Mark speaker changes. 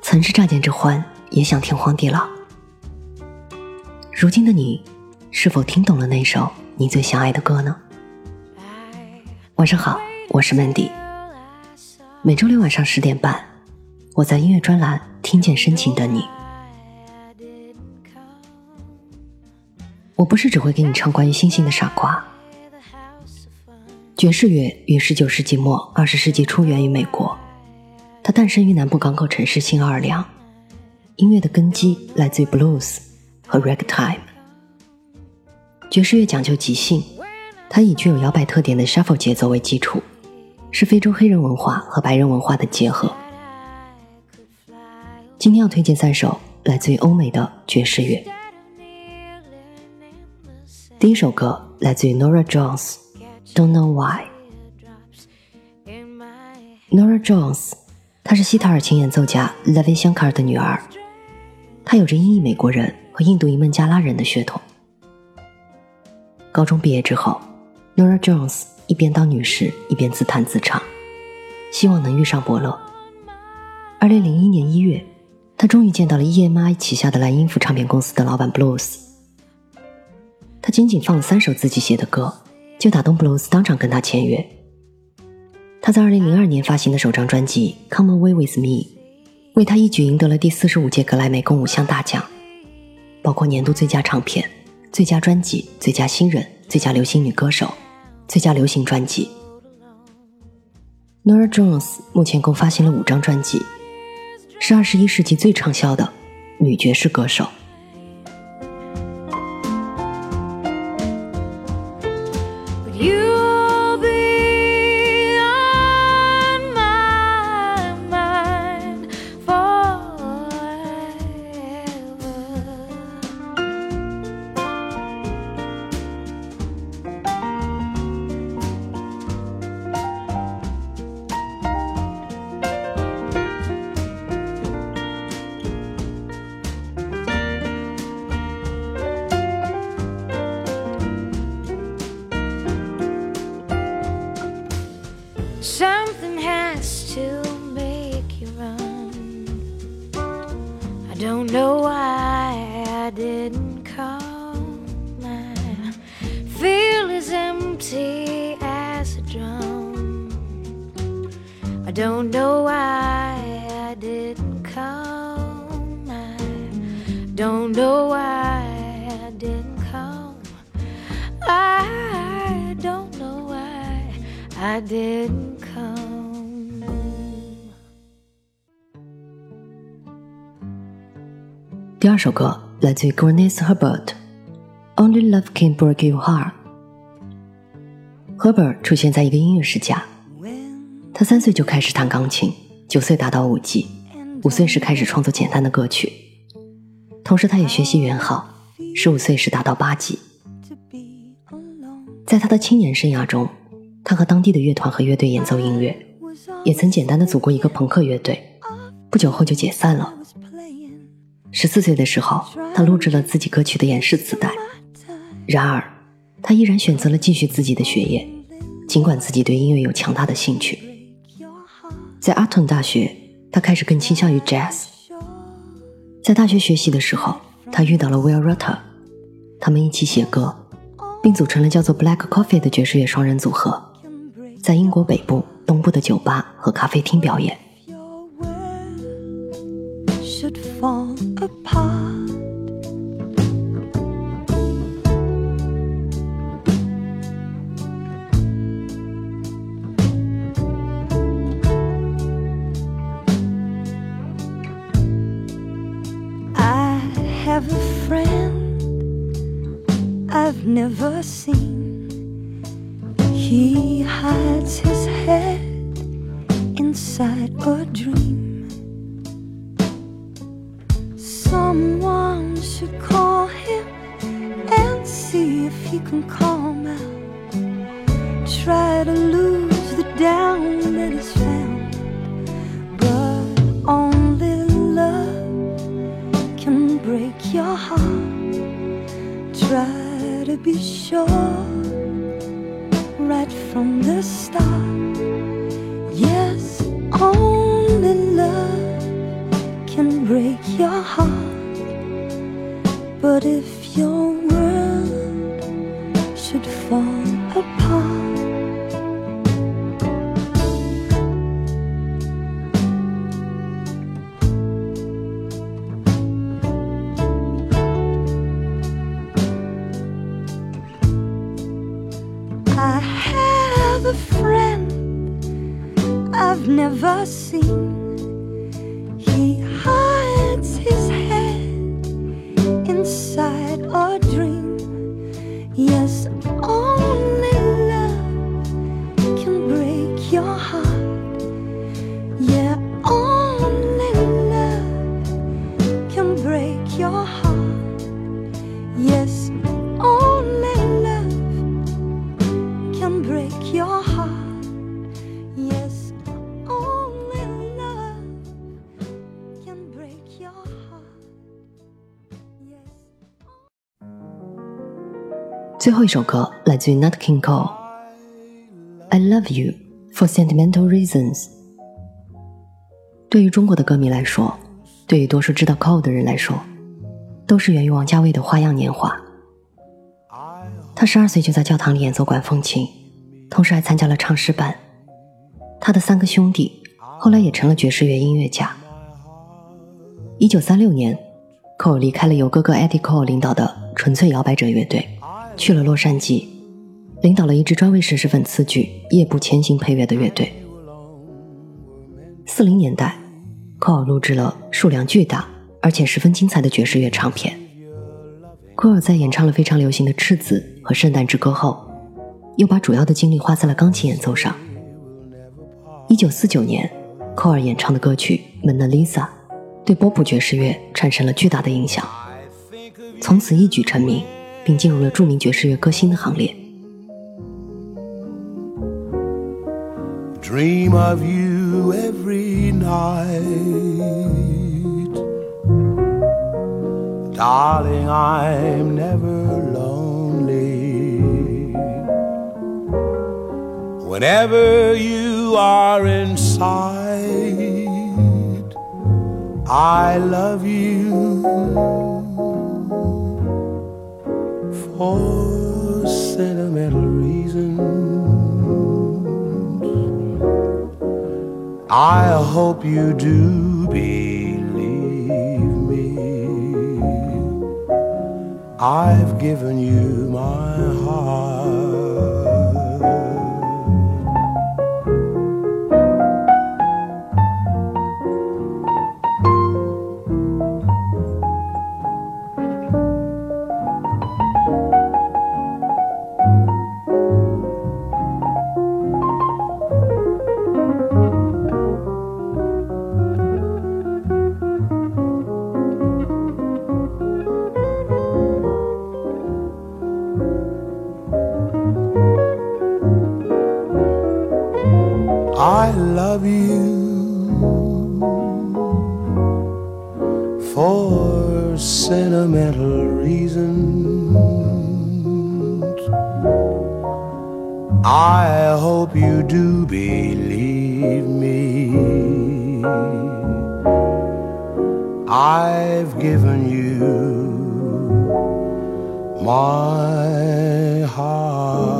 Speaker 1: 曾是乍见之欢，也想天荒地老。如今的你，是否听懂了那首你最想爱的歌呢？晚上好，我是 Mandy。每周六晚上10点半，我在音乐专栏听见深情等你。我不是只会给你唱关于星星的傻瓜。爵士乐于19世纪末20世纪初源于美国，它诞生于南部港口城市新奥尔良。音乐的根基来自于 blues 和 ragtime。 爵士乐讲究即兴，它以具有摇摆特点的 shuffle 节奏为基础，是非洲黑人文化和白人文化的结合。今天要推荐3首来自于欧美的爵士乐。第一首歌来自于 Norah Jones， Don't Know Why。 Norah Jones 她是西塔尔琴演奏家 Ravi Shankar 的女儿，她有着英裔美国人和印度裔孟加拉人的血统。高中毕业之后， Norah Jones 一边当女士一边自弹自唱，希望能遇上伯乐。2001年1月，她终于见到了 EMI 旗下的蓝音符唱片公司的老板 Blues。 他仅仅放了3首自己写的歌，就打动 Blues 当场跟他签约。他在2002年发行的首张专辑 Come Away With Me 为他一举赢得了第45届格莱美共5项大奖，包括年度最佳唱片、最佳专辑、最佳新人、最佳流行女歌手、最佳流行专辑。 Norah Jones 目前共发行了5张专辑，是21世纪最畅销的女爵士歌手。
Speaker 2: Something has to make you run. I don't know why I didn't come. I feel as empty as a drum. I don't know why I didn't come. I don't know why I didn't come. I don't know why I didn't.
Speaker 1: 第2首歌来自于 Grannis Herbert， Only Love Can Break Your Heart。 Herbert 出现在一个音乐世家，他3岁就开始弹钢琴，9岁达到5级，5岁时开始创作简单的歌曲，同时他也学习圆号，15岁时达到8级。在他的青年生涯中，他和当地的乐团和乐队演奏音乐，也曾简单的组过一个朋克乐队，不久后就解散了。14岁的时候，他录制了自己歌曲的演示磁带。然而，他依然选择了继续自己的学业，尽管自己对音乐有强大的兴趣。在阿顿大学，他开始更倾向于 jazz。在大学学习的时候，他遇到了 Will Rutter， 他们一起写歌，并组成了叫做 Black Coffee 的爵士乐双人组合，在英国北部、东部的酒吧和咖啡厅表演。
Speaker 2: Fall apart. I have a friend I've never seen. He hides his head inside a dream.Someone should call him and see if he can calm out. Try to lose the doubt that is found, but only love can break your heart. Try to be sure right from the start. Yes, only love can What if your world should fall apart? I have a friend I've never seen. He hides his head inside a dream. Yes, only love can break your heart. Yeah, only love can break your heart. Yes, only love can break your heart. Yes, only love can break your heart. Yes.
Speaker 1: 最后一首歌来自于 Nat King Cole， I Love You for Sentimental Reasons。 对于中国的歌迷来说，对于多数知道 Cole 的人来说，都是源于王家卫的花样年华。他12岁就在教堂里演奏管风琴，同时还参加了唱诗班。他的3个兄弟后来也成了爵士乐音乐家。1936年 Cole 离开了由哥哥 Eddie Cole 领导的纯粹摇摆者乐队，去了洛杉矶，领导了一支专为绅士粉词剧《夜步前行》配乐的乐队。40年代 Cole 录制了数量巨大而且十分精彩的爵士乐唱片。科尔在演唱了非常流行的《赤子》和《圣诞之歌》后，又把主要的精力花在了钢琴演奏上。1949年，科尔演唱的歌曲《蒙娜丽莎》对波普爵士乐产生了巨大的影响，从此一举成名，并进入了著名爵士乐歌星的行列。
Speaker 3: Dream of you every night, darling, I'm never lonely. Whenever you are in sight, I love you for sentimental reasons. I hope you do believe me. I've given you my heart. I love you for sentimental reasons. I hope you do believe me. I've given you my heart.